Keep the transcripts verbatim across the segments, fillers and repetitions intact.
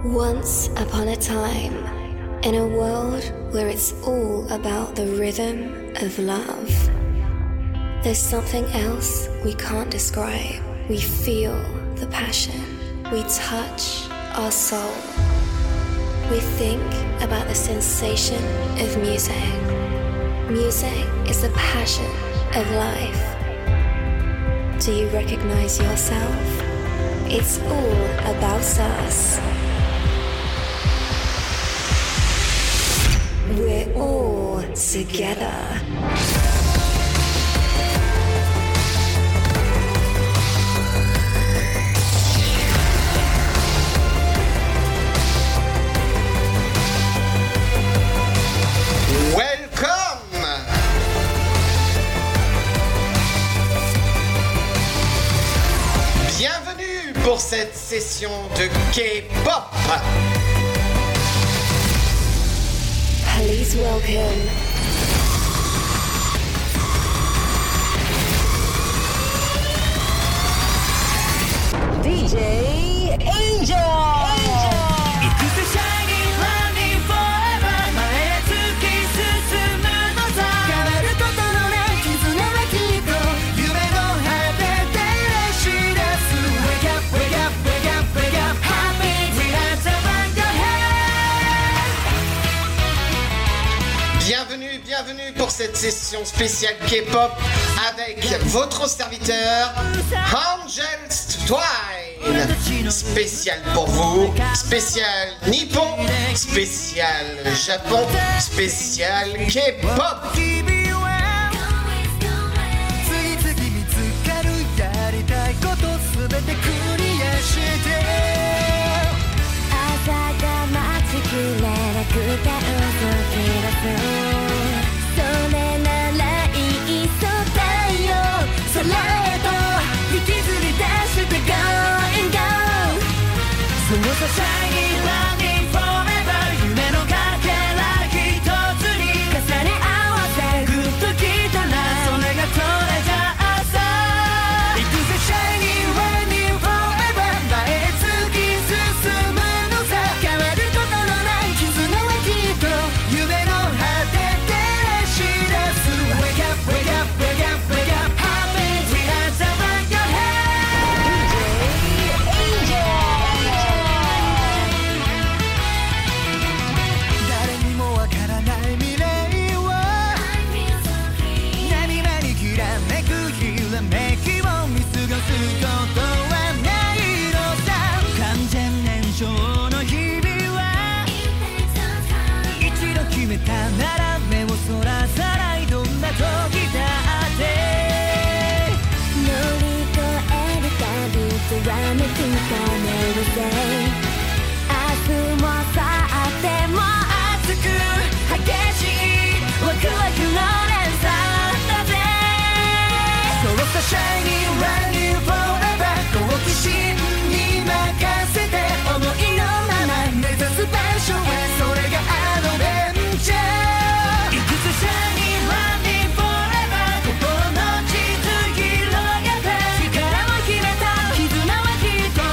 Once upon a time, in a world where it's all about the rhythm of love, there's something else we can't describe. We feel the passion. We touch our soul. We think about the sensation of music. Music is the passion of life. Do you recognize yourself? It's all about us. We're all together. Welcome! Bienvenue pour cette session de K-pop. Please welcome D J Angel! Angel! ！Bienvenue, bienvenue pour cette session spéciale K-pop avec votre serviteur Angels Twine. Spécial pour vous, spécial Nippon, spécial Japon, spécial K-pop. Shining, running forever 夢のかけら一つに重ね合わせグッときたらそれがこれじゃあさ行くぜ Shining, running forever 前へ突き進むのさ変わることのない絆はきっと夢の果て照らし出す Wake up, wake up, wake up, wake up Happy, we are the one your head Angel! なら目をそらさないどんな時だって乗り越えるたびきらめく鐘をせ明日も明後日も熱く激しいワクワクの連鎖だぜそうさ Shining, running forever 好奇心に任せて思いのまま目指す場所へそれがアドベンチャー心の地図広げて力を決めた絆はきっと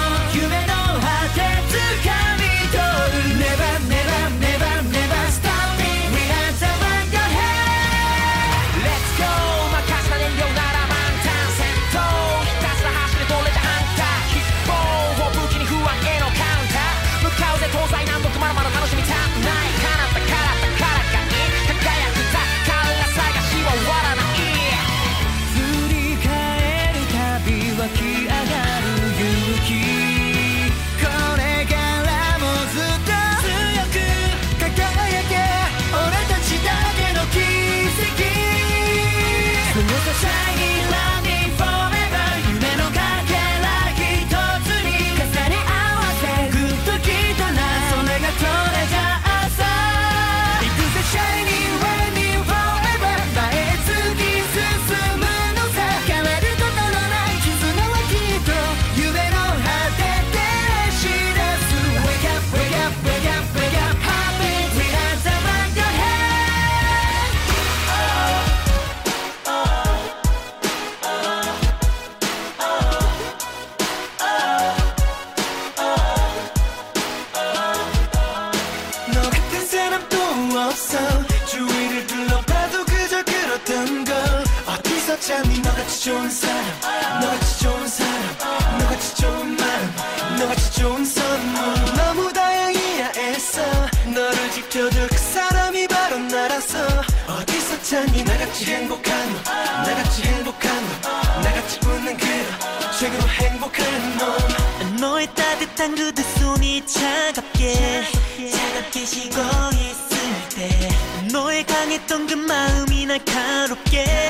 찾니 너같이 좋은 사람 너같이 좋은 사람 너같이 좋은 마음 너같이 좋은 선물 너무 다행이야 애써 너를 지켜줄 그 사람이 바로 나라서 어디서 찾니 나같이 행복한 너 나같이 행복한 너 나같이 웃는 그런 최고로 행복한 놈 너의 따뜻한 그 두 손이 차갑게 차갑게 식어 있을 때 너의 강했던 그 마음이 날카롭게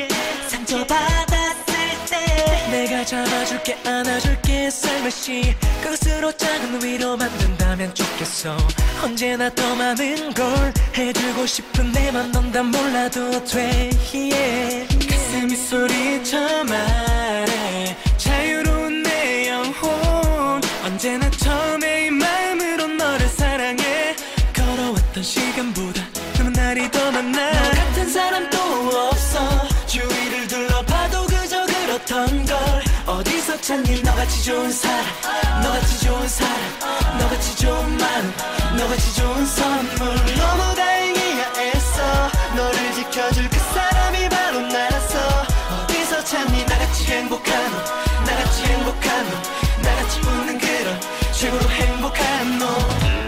상처받았을 때 내가 잡아줄게 안아줄게 살며시 그것으로 작은 위로 만든다면 좋겠어 언제나 더 많은 걸 해주고 싶은 내 맘 넌 다 몰라도 돼 yeah. 가슴이 소리쳐 말해 자유로운 내 영혼 언제나 처음에 이 마음으로 너를 사랑해 걸어왔던 시간보다 남은 날이 더 많아 너 같은 사람 또 없어 주위를 둘러봐도 그저 그렇던 걸 어디서 찾니 너같이 좋은 사람 너같이 좋은 사람 너같이 좋은 마음 너같이 좋은 선물 너무 다행이야 애써 너를 지켜줄 그 사람이 바로 나라서 어디서 찾니 나같이 행복한 너 나같이 행복한 너 나같이 웃는 그런 최고로 행복한 너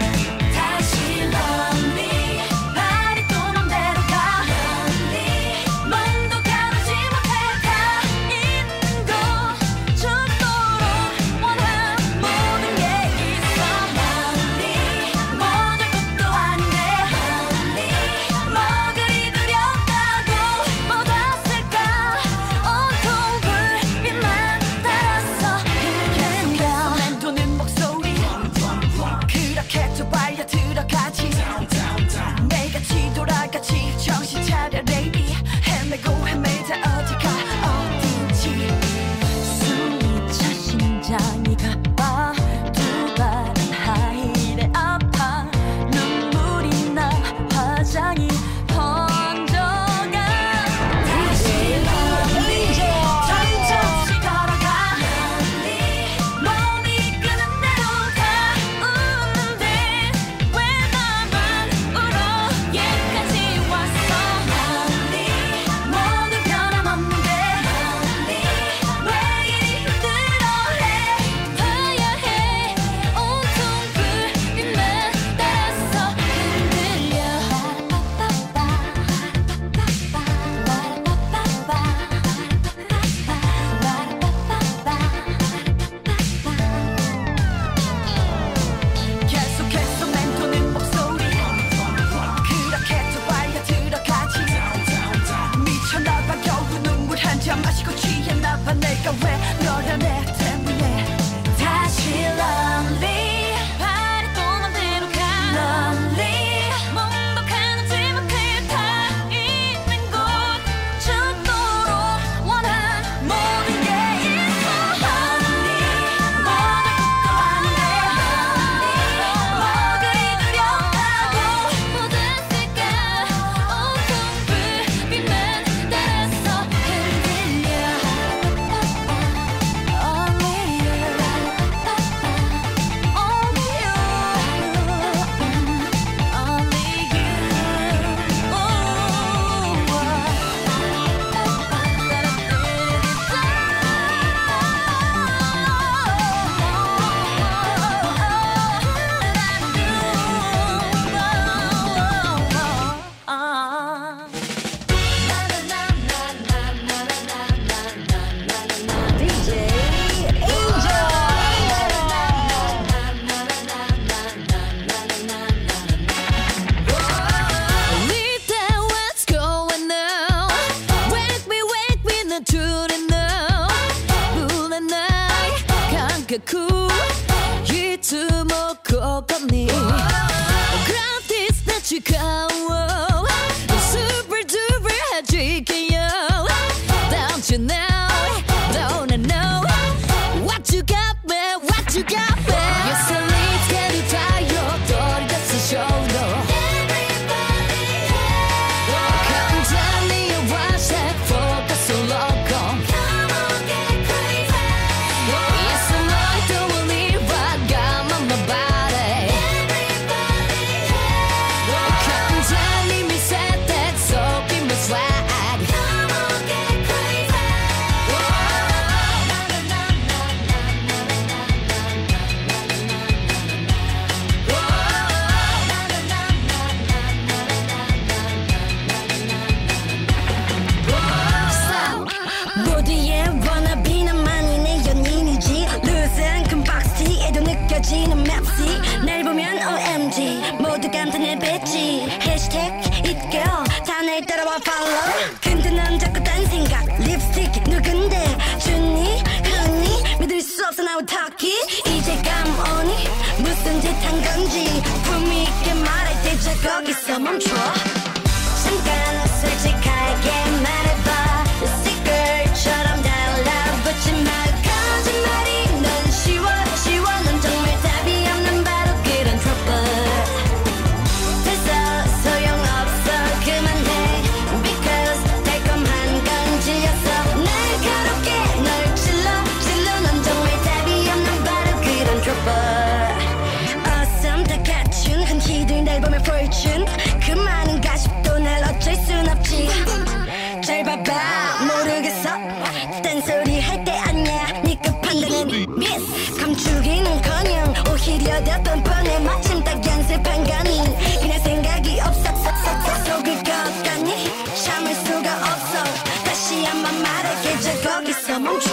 다시 love me 발이 또 맘대로 가 lonely 몸도 가누지 못해 다 있는 곳 죽도록 원한 모든 게 있어 lonely 모를 것도 아닌데 lonely 뭐 그리 두렵다고 못 왔을까 온통 불빛만 따라서 흔들려 맴도는 목소리 그렇게 좁아야 들어가지 내가 뒤돌아가지 정신 차려 lady 헤매고 헤매자 어디가 어딘지 숨이 차 심장이 가빠 두 발은 하이래 아파 눈물이 나 화장이 번져가 다시 love me 천천히 걸어가 lonely 몸이 끄는 대로 다 웃는데 왜 나만 울어 얘까지 왔어 lonely 모두 변함없는데 lonely 왜 이리 힘들어해 봐야 해 온통 불빛만 따라서 흔들려 계속해서 맴도는 목소리 그렇게 좁아야 들어가지 미쳐나봐 겨우 눈물 한 잔 마시고 취했나봐 내가 왜 너를 내 때문에 다시 lonely 발이 또 맘대로 가 lonely 몸도 가누지 못해 다 있는 곳 죽도록 원한 모든 게 있어 lonely 모를 것도 아닌데 lonely 뭐 그리 두렵다고 못 왔을까 온통 불빛만 따라서 흔들려 only you only you only 디제이 Angel. Leave that what's going on Wake me, wake me, 난 truly know 불의 날 감각구 잊지 못고 걷니 Grab this 나 지가워 Super duper 해줄게요 Don't you know, don't I know What you got me, what you got me You're so late, get it tired Don't just show no Come tell me what's that focus so long gone Come on, get crazy Yes, I know I don't believe I got my body Come tell me talkie 이제 감오니 무슨 짓 한 건지 품위 있게 말할 때 저 거기서 멈춰 잠깐 솔직하게 말해봐 Secret처럼 달라붙지 마 거짓말이 넌 쉬워 쉬워 넌 정말 답이 없는 바로 그런 trouble 됐어 소용없어 그만해 Because 달콤한 건 질렸어 날 가롭게 널 찔러 찔러 넌 정말 답이 없는 바로 그런 trouble Awesome 다 갖춘 흔히들 날 보면 fortune 그 많은 가십도 날 어쩔 순 없지 잘 봐봐 모르겠어 딴소리 할 때 아니야 니그 판단은 miss 감추기는커녕 오히려 더 뻔뻔해 마침 딱 연습한 거니 그냥 생각이 없었어 속을 것 같니 참을 수가 없어 다시 한번 말할게 저 거기서 멈춰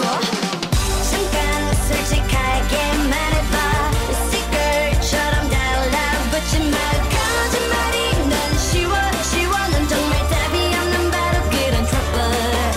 잠깐 솔직하게 말해봐 Secret처럼 달라붙지 마 거짓말이 넌 쉬워 쉬워 넌 정말 답이 없는 바로 그런 trouble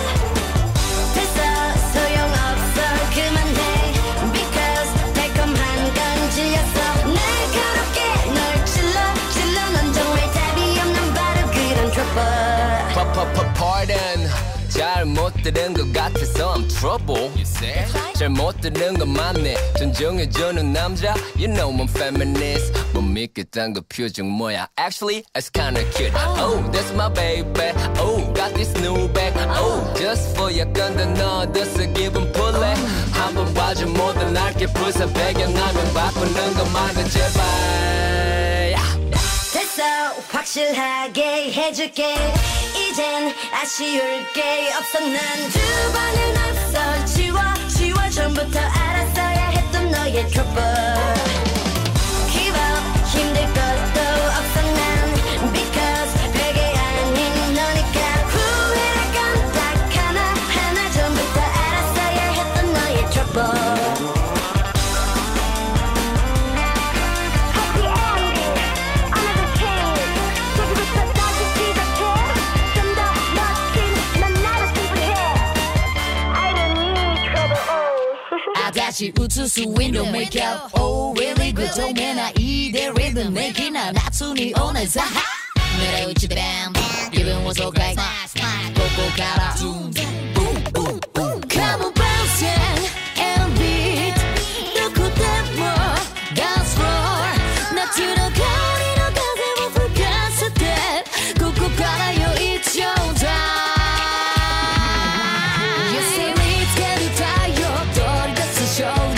됐어 소용없어 그만해 Because 달콤한 건 질렸어 날 가롭게 널 찔러 찔러 넌 정말 답이 없는 바로 그런 trouble Pardon 잘 못 들은 것 같아서 I'm trouble 잘 못 들은 것 맞네 존중해주는 남자 You know I'm feminist 못 믿겠단 그 표정 뭐야 Actually it's kinda cute Oh that's my baby Oh got this new bag Oh just for 약간 더 넣어둬서 기분 풀래 한번 봐줘 모든 날개 부서 배경화면 바꾸는 것만은 제발 됐어 확실하게 해줄게 이젠 아쉬울 게 없어 난 두 번은 없어 지워 지워 전부터 알았어야 했던 너의 trouble Give up 힘들 것도 없어 난 Because 별게 아닌 너니까 후회할 건 딱 하나 하나 전부터 알았어야 했던 너의 trouble 다시 웃을 수 있는 make up Oh really good 동해나 이대 rhythm 내기나 나순이 오늘 사하 내려 웃지 bam 기분 was so great 꼭꼭 가라 boom boom boom boom Come on bounce and beat 놓고 댐어 dance floor 나 들어가리로 가세 못풀 가스 step 꼭꼭 가라요 it's your time You say let's get it tired 덜 됐어 show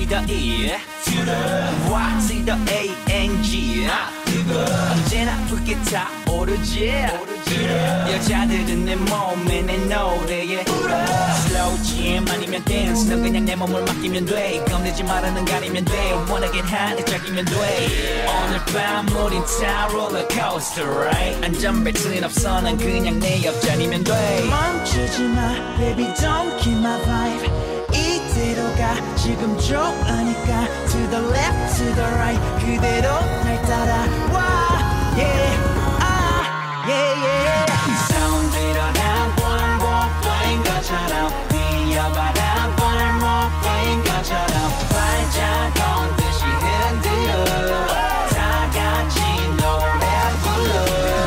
to the E to the Y to the A N G 언제나 그게 다 오르지 여자들은 내 몸에 내 노래에 Slow jam 아니면 dance 넌 그냥 내 몸을 맡기면 돼 겁내지 말아는 가리면 돼 Wanna get high 짝이면 돼 오늘 밤 우린 다 롤러코스터 right 안전벨트는 없어 난 그냥 내 옆자리면 돼 멈추지 마 baby don't kill my vibe 이대로 가 지금 좋으니까 To the left to the right 그대로 날 따라와 Yeah ah yeah yeah 손 들어라 볼목인 것처럼 뛰어봐라 볼목인 것처럼 발자국 듯이 흔들어 다 같이 노래 불러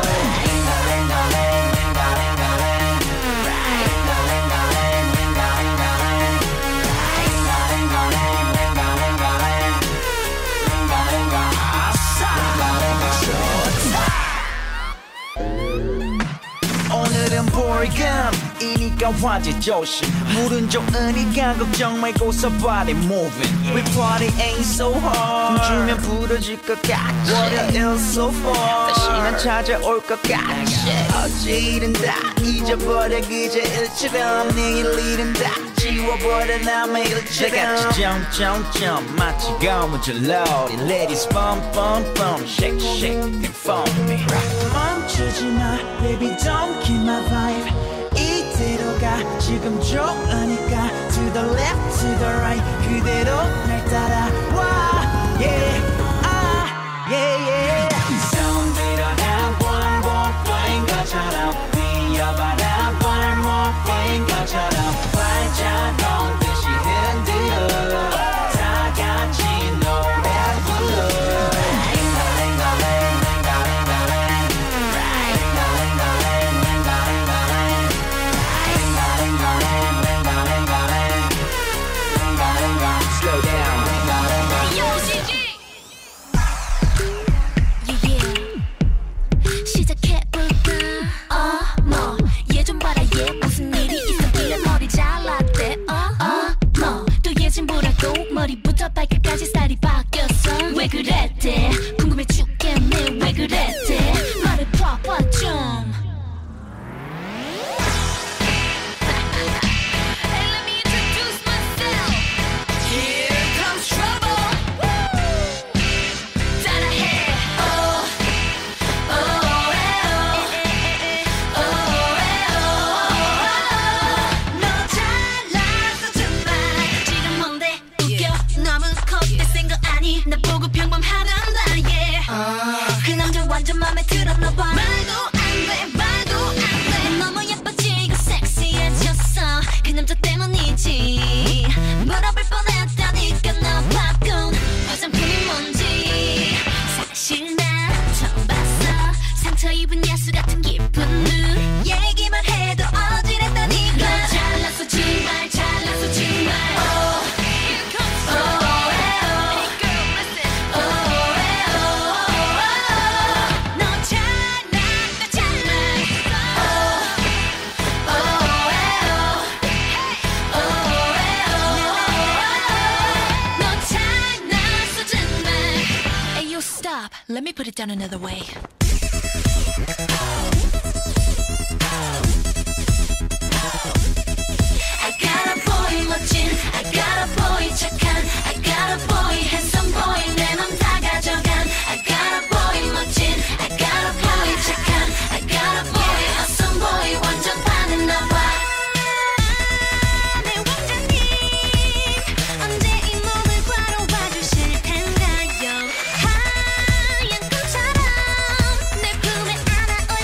오늘은 볼감이니까 화제 조심 물은 좋으니까 걱정 말고서 body moving We party ain't so hard 춤추면 부러질 것 같지 월요일 so far 다시는 찾아올 것 같지 어제 일은 다 잊어버려 그저 일처럼 내일 일은 다 지워버려 남의 일처럼 다같이 점점점 마치 고무줄놀이 Ladies bum bum bum shake shake and for me 멈추지 마 baby don't kill my vibe 이대로 가 지금 좋으니까 To the left to the right 그대로 날 따라와 Yeah ah yeah yeah 손 들어라 볼목인 것처럼 뛰어봐라 볼목인 것처럼 발자국 듯이 흔들어 다 같이 노래 불러 Slow down. Yo, 지 지. Yeah, yeah. 시작해볼까? 어, 뭐, 얘 좀 봐라, 얘 무슨 일이 있었길래 머리 잘랐대. 어, 어, 뭐, 또 얘 좀 보라고 머리부터 발끝까지 스타일이 바뀌었어. 왜 그랬대? 궁금해 죽겠네. 왜 그랬대? 말해봐봐 좀. 나 보고 평범하단다 yeah uh. 그 남자 완전 맘에 들었나봐 말도 안돼 말도 안돼 너무 예뻐지고 섹시해졌어 그 남자 때문이지 물어볼 뻔했다니까 나 바꾼 화장품이 뭔지 사실 난 처음 봤어 상처 입은 야수 같은 기쁜 눈 얘기만 해도 어지럽다니까 너 잘났어 정말 잘났어 정말 oh. Let me put it down another way. I got a boy 멋진, I got a boy 착한, I got a boy handsome boy 내 맘 다 가져간. I got a boy 멋진, I got a boy 착한, I got a boy awesome boy 완전 반했나봐. 내 왕자님 언제 이 몸을 바로 봐주실 텐가요? 하얀 꿈처럼 내 품에 안아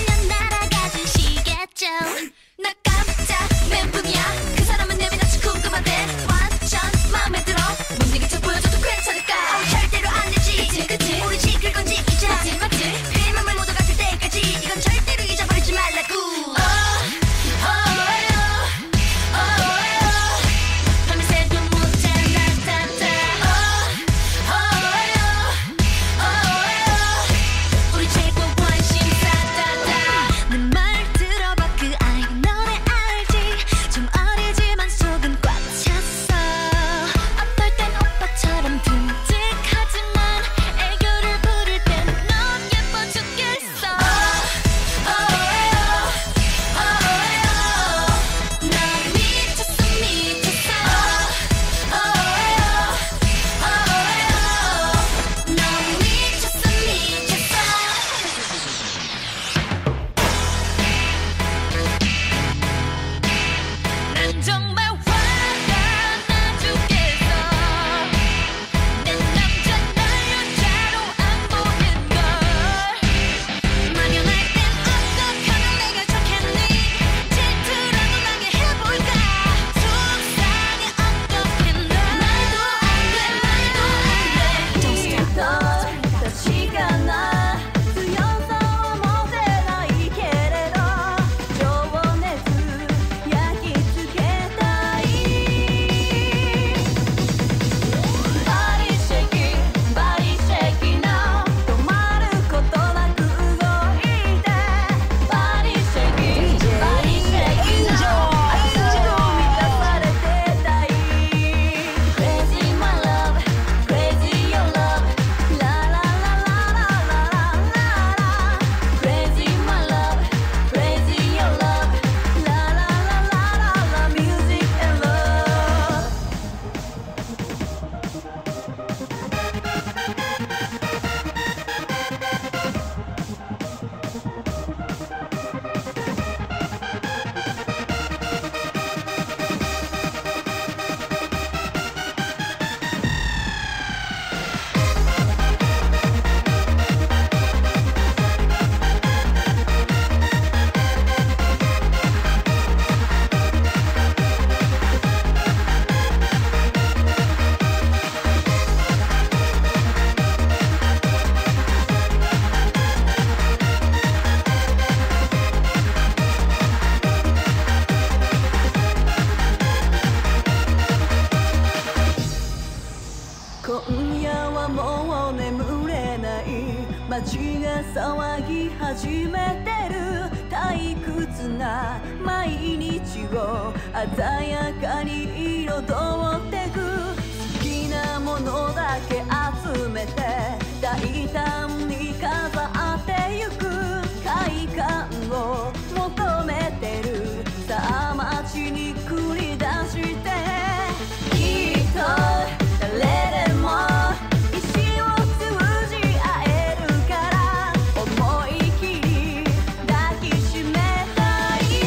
騒ぎ始めてる退屈な毎日を鮮やかに彩ってく好きなものだけ集めて大胆に飾ってゆく快感を求めてるさあ街に繰り出してきっと誰でも意志を通じ合えるから思い切り抱きしめたい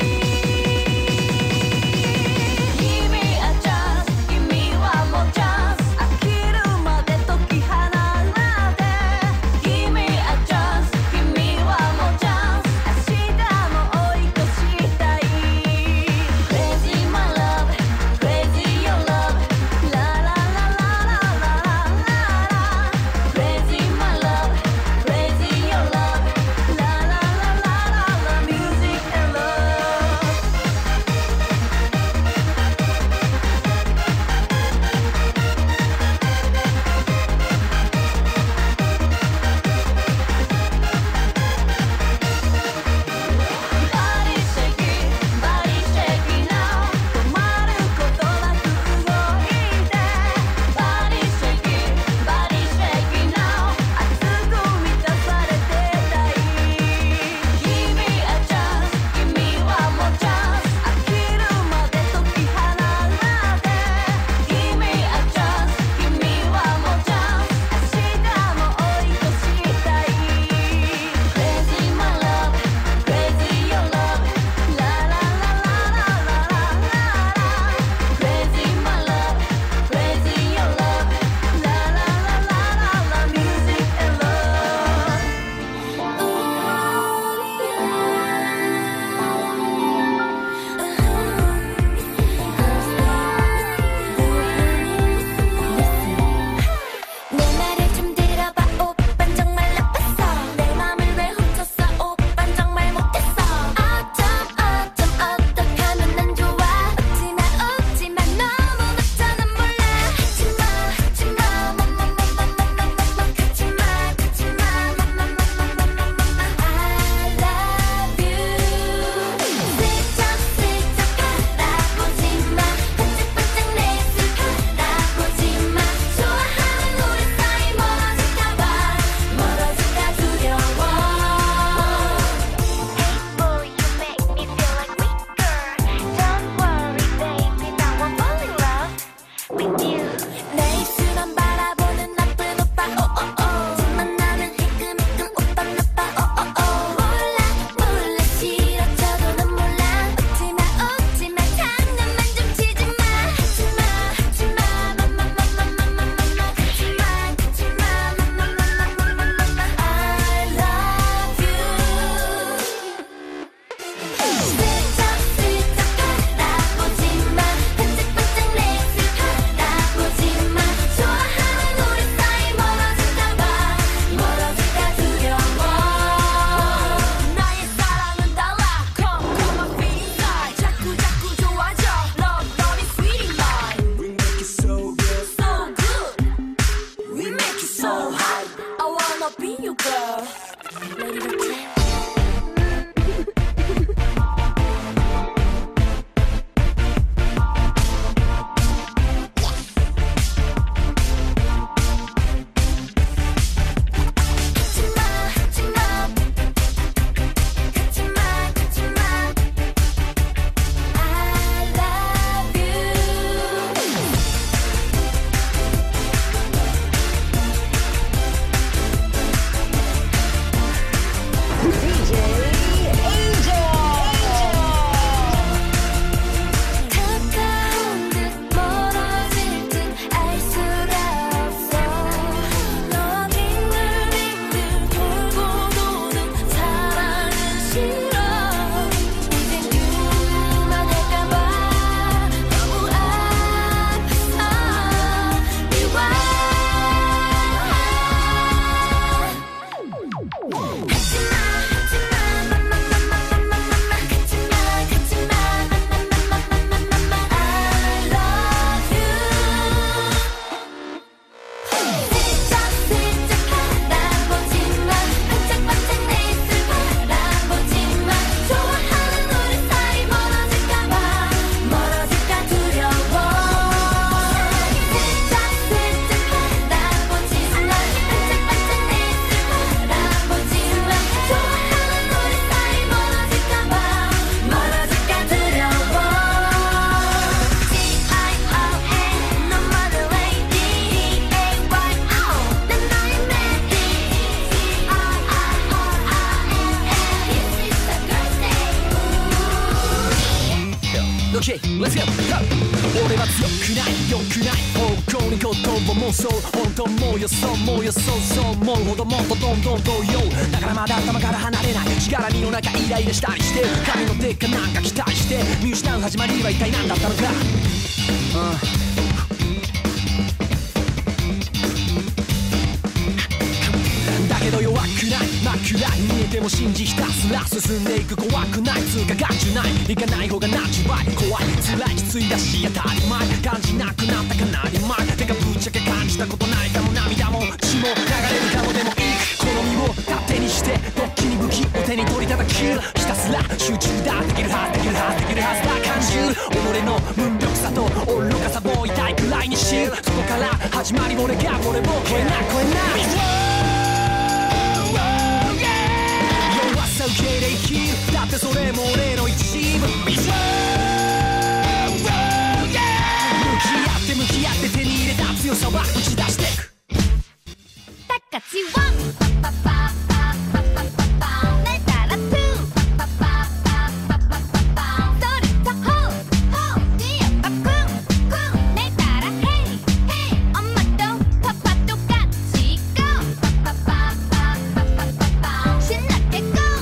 君はチャンス君はもうチャンス飽きるまで解き放って君はチャンス君はもうチャンス明日も追い越したい Crazy my love Crazy your love La la la la la la la la Crazy my love Crazy your love La la la la la la Music and love Body shaking, body shaking now 止まることなく動いて Body shaking, body shaking now 熱く満たされてたい君はチャンス君はもうチャンス飽きるまで解き放って君はチャンス君はもうチャンス明日も追い越したい Crazy my love Crazy your love La la la la la la la la Crazy my love Crazy your love La la la la la la Music and 내 말을 좀 들어봐 오빤 정말 나빴어 내 맘을 왜 훔쳤어 오빤 정말 못했어 어쩜 어쩜 어떡하면 난 좋아 웃지마 웃지마 너무 늦잖아 몰라 하지마 하지마 맘맘맘맘맘맘맘 가지마 가지마 맘맘맘맘맘맘맘 I love you 슬쩍슬쩍 바라보지마 반짝반짝 내 입술 바라보지마 좋아하는 우리 사이 멀어질까봐 멀어질까 두려워 Hey boy you make me feel like weaker Don't worry baby now I'm falling in love with you 내 입술만 바라보는 나쁜 오빠 오오오 집만 나면 희끔희끔 오빠 나빠 오오오 몰라 몰라 싫어져도 난 몰라 웃지마 웃지마 장난만 좀 치지마 하지마 하지마 맘맘맘맘맘맘맘 가지마 가지마 맘맘맘맘맘맘맘 I love you 슬쩍슬쩍 바라보지마 반짝반짝 내 입술 바라보지마 좋아하는 우리 사이 멀어질까봐 멀어질까 두려워 나의 사랑은 달라 Come come my feeling high 자꾸 자꾸 좋아져 Love love is sweet mine We make it so good So good We make it so high I wanna be your girl Lady Rotate 가지마 하지마 가지마 가지마 I love you 슬쩍슬쩍 바라보지마 반짝반짝 OK Let's go 俺は強くない良くない方向に言葉もそう本当もうよそうもうよそうそう思うほどもっとどんどん動揺だからまだ頭から離れない力身の中イライラしたりして神の手かなんか期待して見失う始まりは一体何だったのか、うんけど弱くない真っ暗に見えても信じひたすら進んでいく怖くない通過が中ない行かない方がナチュラル怖い辛いきついだし当たり前感じなくなったかなり前てかぶっちゃけ感じたことないかも涙も血も流れるかもでもいい好みを勝手にしてドッキリ武器を手に取り叩きひたすら集中だできるはずできるはずできるはずだ感じる己の無力さと愚かさも痛いくらいに知るそこから始まり俺が俺を超えない超えない受け入れ生きるだってそれも俺の一部向き合って向き合って手に入れた強さは打ち出してくタカチワンパパパパパパパパ泣いたらトゥーパパパパパパパパそれとホーホーディアパクンクン泣いたらヘイヘイおまとパパとガチゴーパパパパパパパパしなってゴー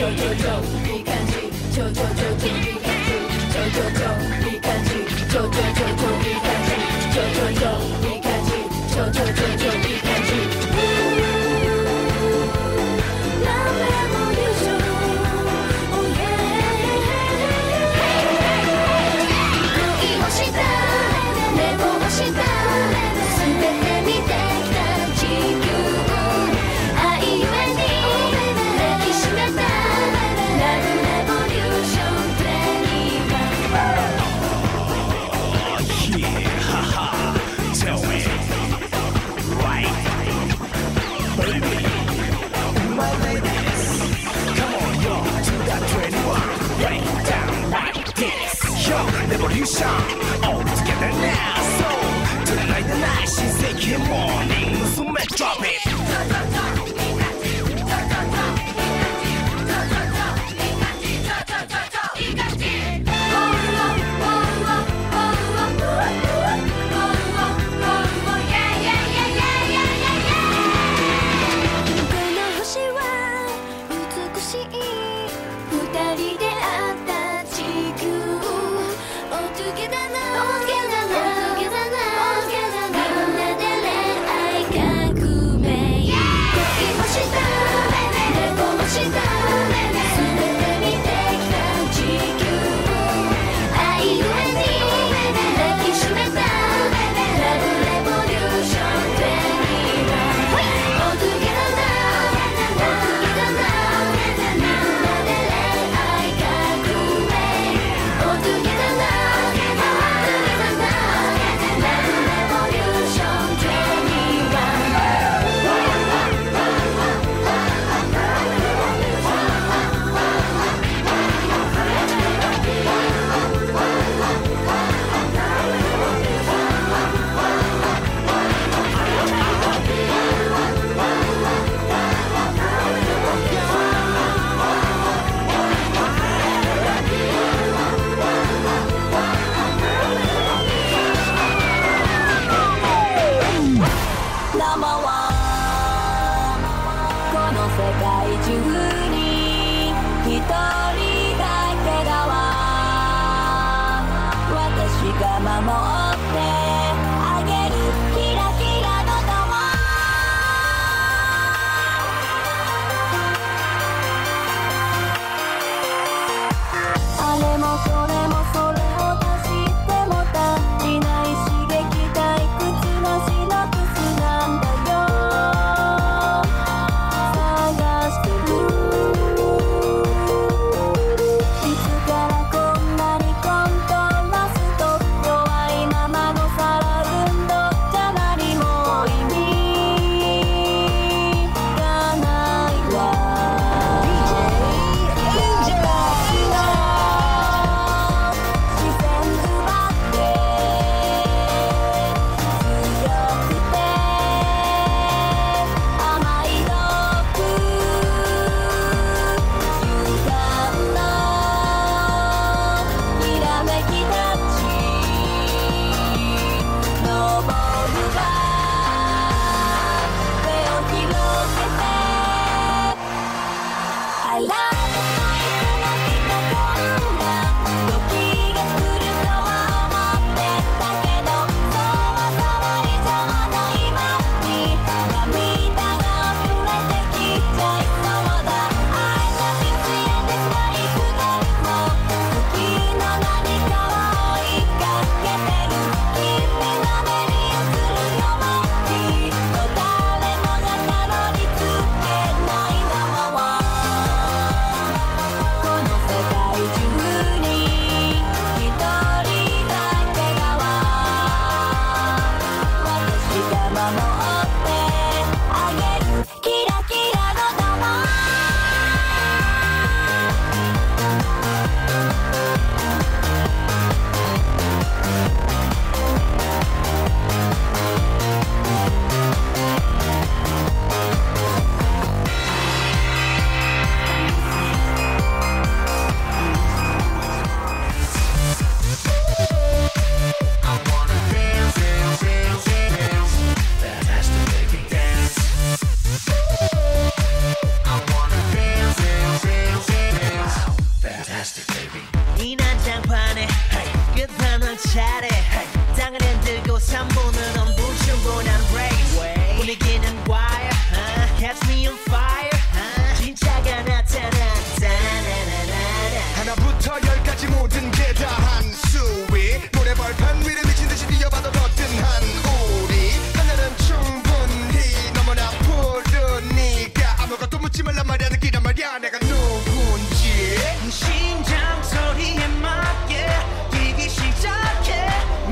Revolution all together now. So tonight the night she's taking morning. So let's drop it. Yeah! 잘해 땅을 흔들고 삼 분은 엄부 충분한 race 분위기는 wire uh, catch me on fire uh, 진짜가 나타난다 하나부터 열까지 모든 게 다 한 수위 노래 벌판 위를 미친 듯이 뛰어봐도 거뜬한 우리 하늘은 충분히 너무나 푸르니까 아무것도 묻지 말란 말이야 느끼란 말이야 내가 누군지 심장 소리에 맞게 뛰기 시작해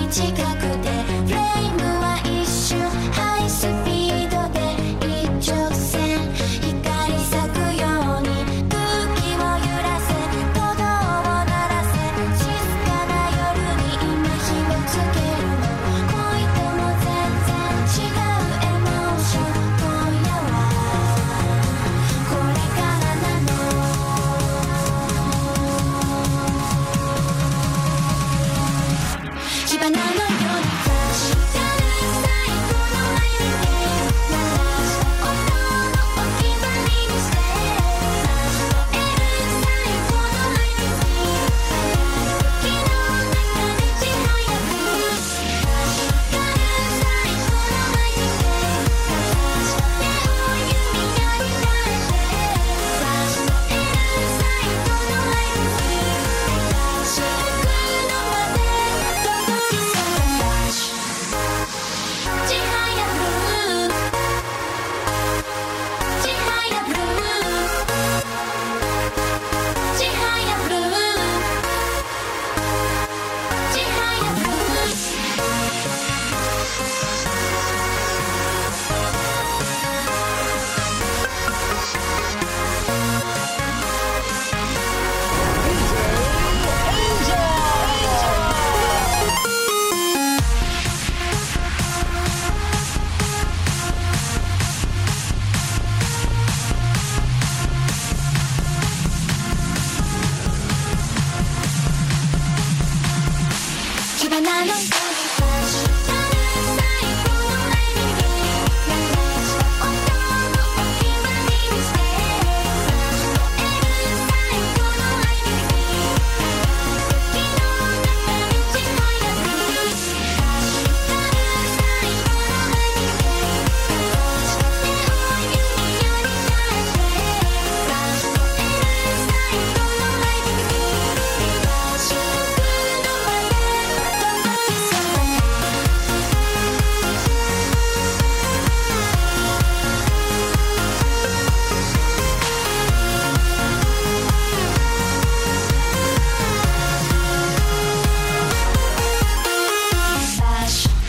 近くでフレームは一瞬ハイスピードで一直線光咲くように空気を揺らせ鼓動を鳴らせ静かな夜に今火をつけるの恋とも全然違うエモーション今夜はこれからなの火花のようにフラッシュ最後のライブで鳴らした音のお決まりにしてエル最後のライブに輝く時の中でちはやく光る最後のライブで鳴らした手を弓矢に変えてフラッシュのエル最後のライブに照らしてくのまで届きそうちはやブルーちはやブルーちはやブルーちはやブルー火花のようにフラッシュ最後のライブに鳴らした音のお決まりにしてフラッシュのエル最後のライブに輝く時の中でちはやくフラッシュ最後のライブで鳴らした手を弓矢に変えてフラッシュのエル最後のライブに照らしてくのまで届きそうフラッシュ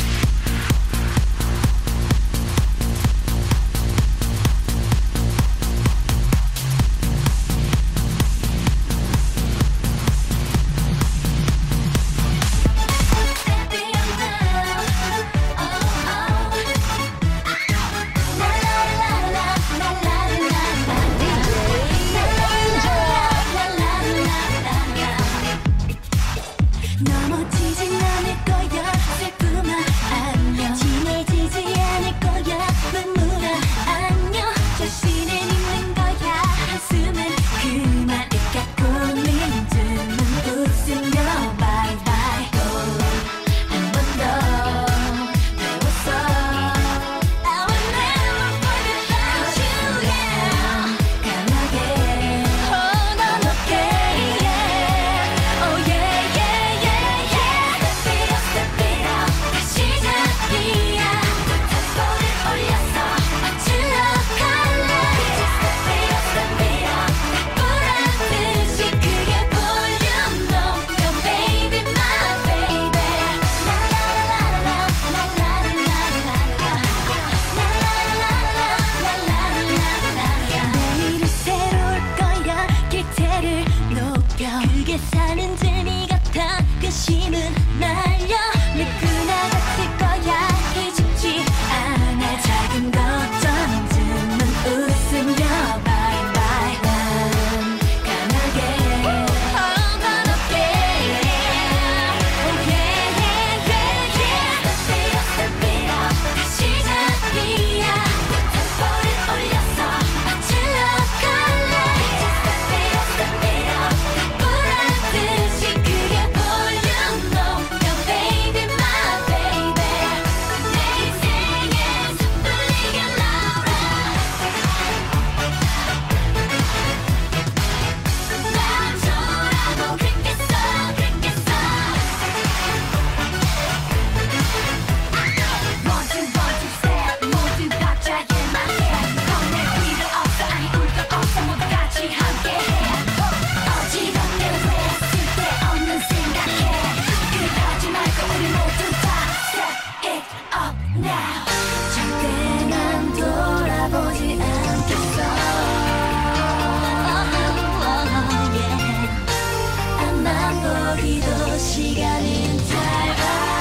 너무 지진 않을 거야 슬픔아 안녕 진해지지 않을 거야 눈물아 안녕 자신을 잊는 거야 한숨은 그 말을 갖고는 눈은 웃으며 바이바이 한 번 더 배웠어 I will never forget about you yeah 강하게 hold on okay yeah oh yeah yeah yeah yeah step it up step it up 다시 시작이야 템포를 올려서 맞추러 갈래 step it up step it up 보란듯이 크게 볼륨 높여 baby my baby 내일이 새로울 거야 기대를 높여 그게 사는 재미 같아 근심은 날려 누구나 같을 거야 기죽지 않아 작은 것처럼 눈은 웃으며 bye bye 난 강하게 hold on okay oh yeah yeah yeah yeah step it up step it up 다시 시작이야 템포를 올려서 맞추러 갈래 step it up step it up 보란듯이 크게 볼륨 높여 baby 여기도 시간은 짧아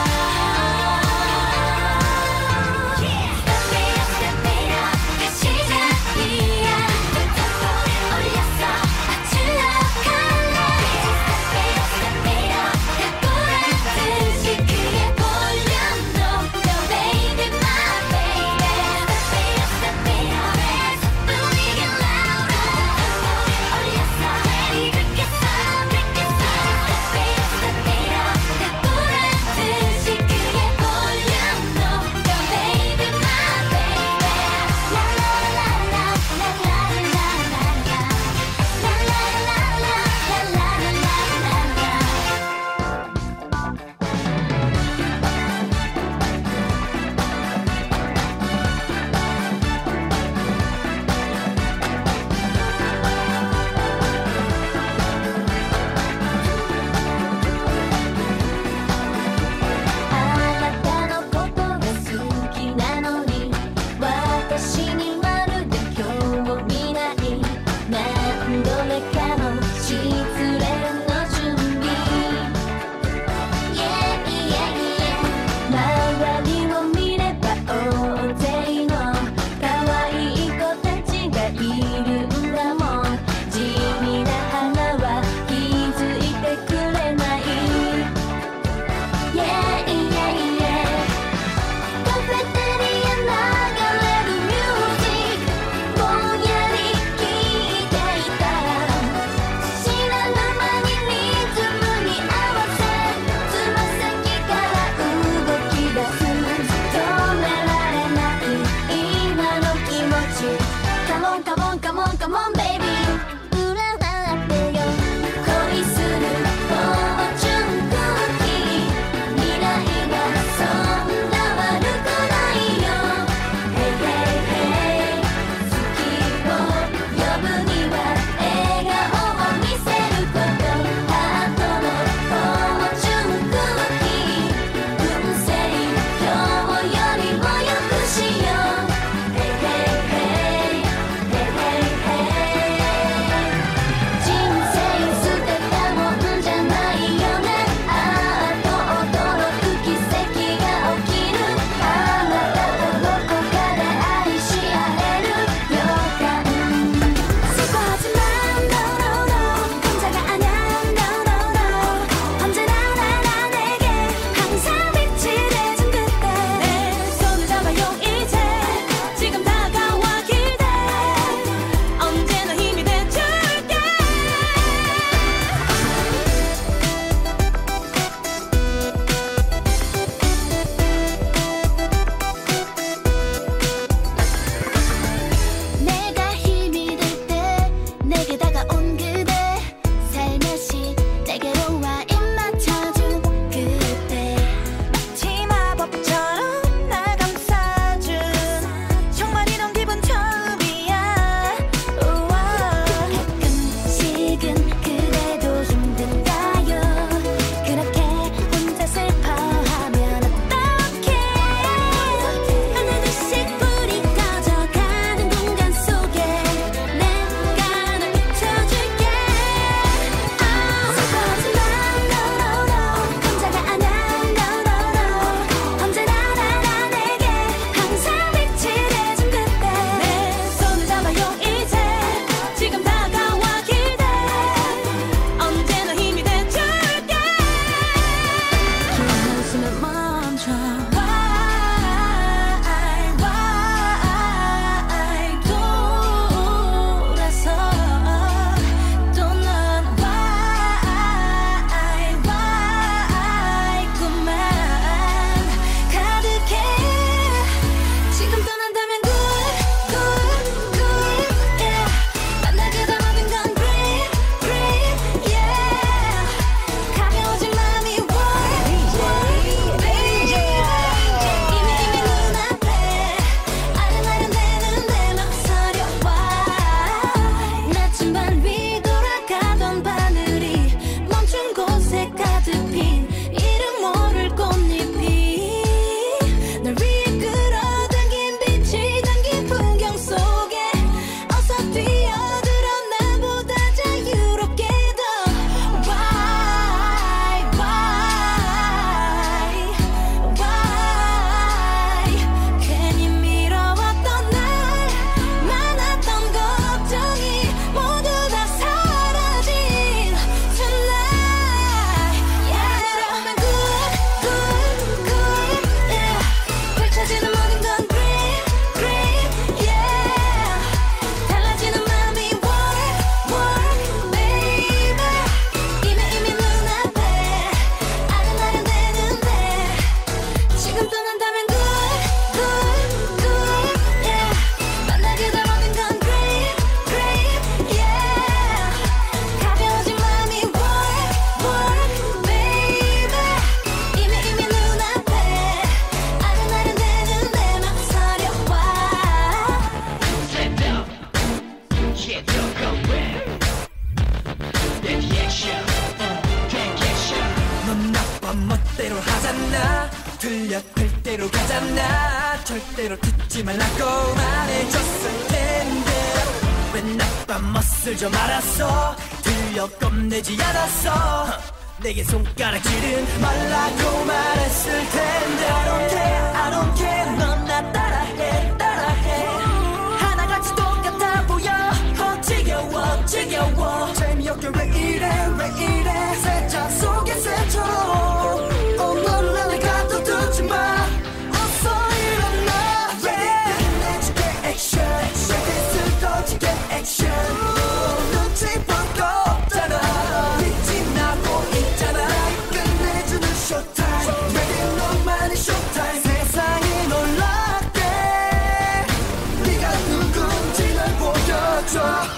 맘 멋대로 하잖아 들려 될 대로 가잖아 절대로 듣지 말라고 말해줬을 텐데 왜 나쁜 멋을 좀 알았어 들려 겁내지 않았어 내게 손가락질은 말라고 말했을 텐데 I don't care I don't care 넌 나 따라해 따라해 하나같이 똑같아 보여 어 지겨워 지겨워 재미없게 왜 이래 왜 이래 세자 속에 새처럼 오늘 나를 가둬두지 마 어서 일어나 Ready 내줄게 액션 Ready 쓰러지게 액션 눈치 보고 없잖아 빛이 나고 있잖아 끝내주는 쇼타임 Ready 너만의 쇼타임 세상이 놀랍게 네가 누군지 날 보여줘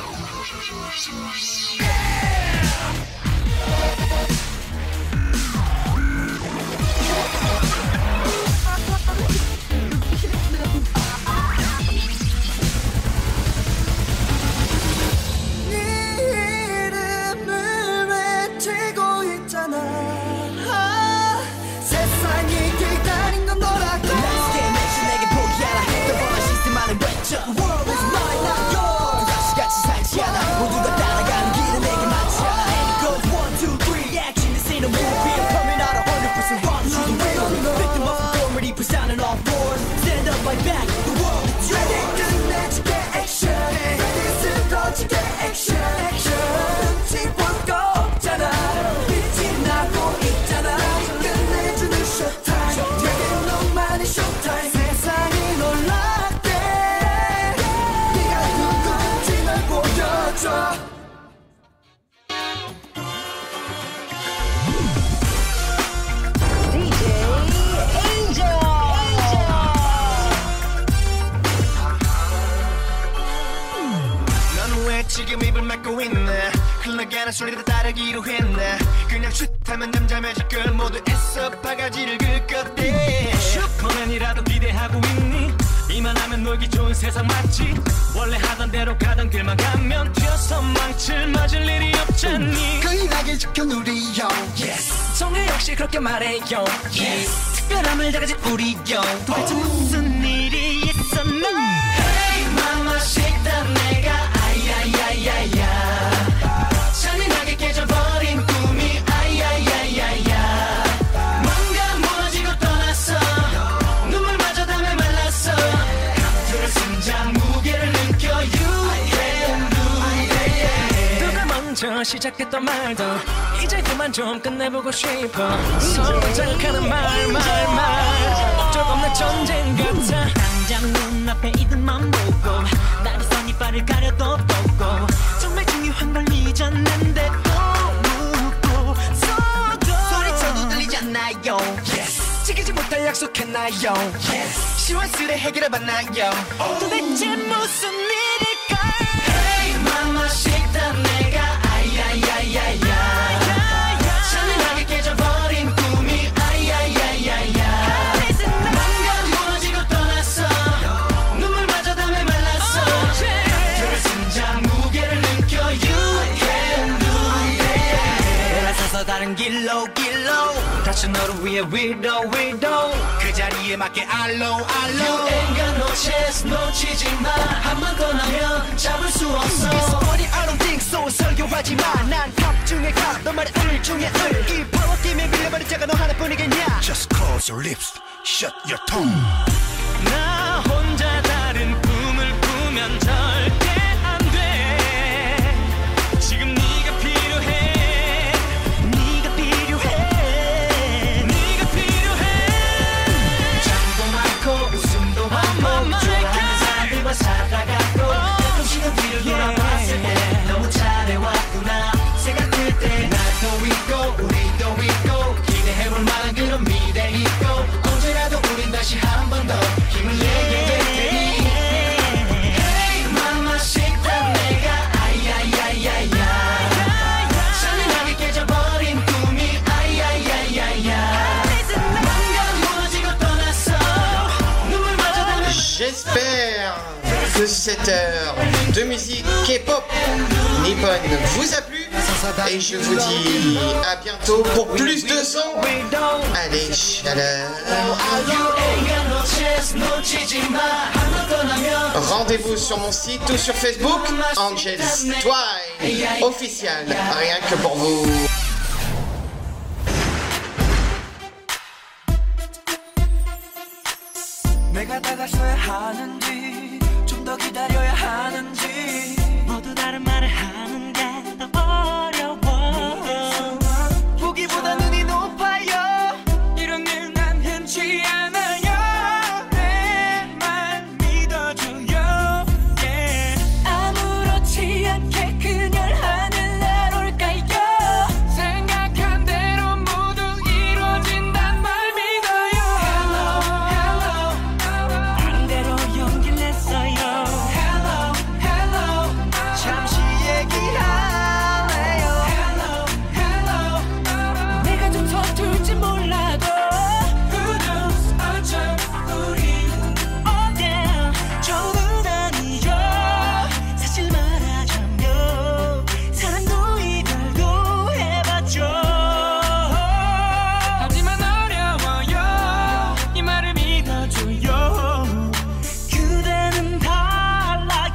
지금 입을 막고 있네 흘러가는 소리를 따르기로 했네 그냥 슛하면 잠잠해질 걸 모두 애써 바가지를 긁었대 슈퍼맨이라도 기대하고 있니 이만하면 놀기 좋은 세상 맞지 원래 하던 대로 가던 길만 가면 튀어서 망칠 맞을 일이 없잖니 거인하게 지켜 누리요 yes. 정혜 역시 그렇게 말해요 yes. 특별함을 다가진 우리요 도대체 무슨 일이 있었나 Hey mama 식단 내가 아야야야야 잔인하게 깨져버린 꿈이 아야야야야 뭔가 무너지고 떠났어 눈물마저 담에 말랐어 감투를 심장 무게를 느껴 You can do it 누가 먼저 시작했던 말도 이제 그만 좀 끝내보고 싶어 서로 자극하는 말 말 말 목적 없는 전쟁 같아 당장 눈앞에 이들만 보고 나를 선이빨을 가려도 뻗고 정말 중요한 걸 잊었는데 또 묻고 서도 소리쳐도 들리지 않나요 yes. 지키지 못할 약속했나요 yes. 시원스레 해결해봤나요 도대체 무슨 일일까 Hey mama 식단 내가 아야야야야 잔인하게 깨져버린 꿈이 아야야야야 뭔가 무너지고 떠났어 눈물마저 담에 말랐어 감투를 심장 무게를 느껴 You can do it 돌아서서 다른 길로 길로 다시 너를 위해 위로 위로 그 자리에 맞게 알로 알로 You ain't got no chance 놓치지 마 한 번 더 나면 잡을 수 없어 It's funny I don't think so 설교하지 마난갑 중에 갑 너만의 을 중에 을이 파워 팀에 밀려버린 자가 너 하나뿐이겠냐 Just close your lips Shut your tongue 나 혼자 다른 꿈을 꾸면 절대 안 돼 지금 네가 필요해 네가 필요해 네가 필요해 장도 많고 웃음도 많고 좋아하는 사람들과 살아가고 가끔씩은 뒤를 돌아봤을 때 너무 잘해왔구나 생각할 때 나도 있고 우리도 있고 기대해볼 만한 그런 미래 있고 언제라도 우린 다시 한 번 더 힘을 내게 될 테니 Hey mama 식단 내가 아야야야야 잔인하게 깨져버린 꿈이 아야야야야 뭔가 무너지고 떠났어 눈물마저 담에 J'espère que cette heure de musique K-pop nippone vous a plu. Et je vous dis à bientôt pour plus de son. Allez, chaleur. Rendez-vous sur mon site ou sur Facebook, Angels Twine officiel, rien que pour vous. 내가 다가서야 하는지 좀 더 기다려야 하는지 모두 다른 말을 하는 게 더 어려워 보기보다 눈이 높아요 이런 일 난 흔치 않아요 내 말 믿어줘요 yeah. 아무렇지 않게 그녀를 하늘 날올까요 생각한 대로 모두 이루어진단 말 믿어요 Hello, hello 나름대로 용기를 냈어요 Hello, hello 잠시 얘기할래요 Hello, hello 내가 좀 서툴지 몰라도 Who knows 어쩜 우리 Oh yeah 좋은 아니요 사실 말하자면 사랑도 이별도 해봤죠 하지만 어려워요 이 말을 믿어줘요 그대는 달라요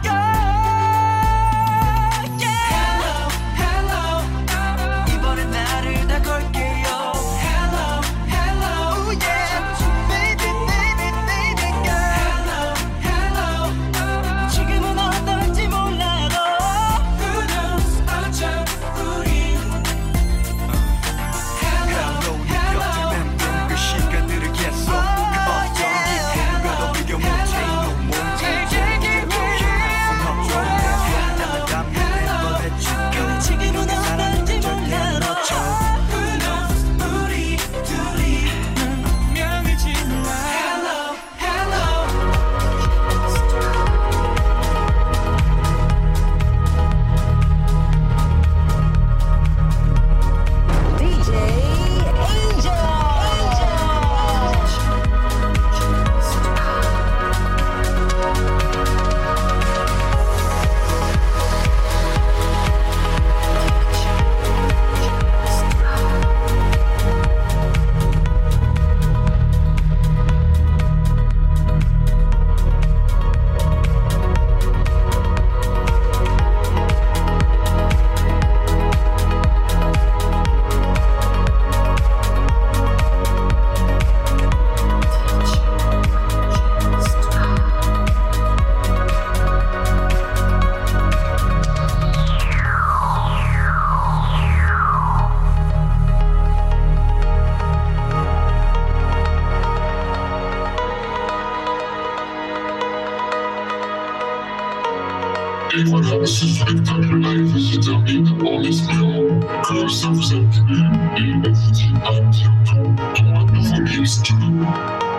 yeah. Hello, hello 이번엔 나를 다 걸게요 Hello, hello yeah. Baby, baby, baby girl Hello, hello 지금은 어떨지 몰라도 Who knows 어쩜 우리 Hello, hello 그 시간들을 계속 그 어떤 기분과도 비교 못해 너 못해 지금은 어떨지 몰라도 Who knows 우리 둘이 운명일지 몰라 Hello, hello 디제이 Angel. Et voilà, ce spectacle live se termine en espérant que ça vous a plu et on vous dit à bientôt pour un nouveau mix.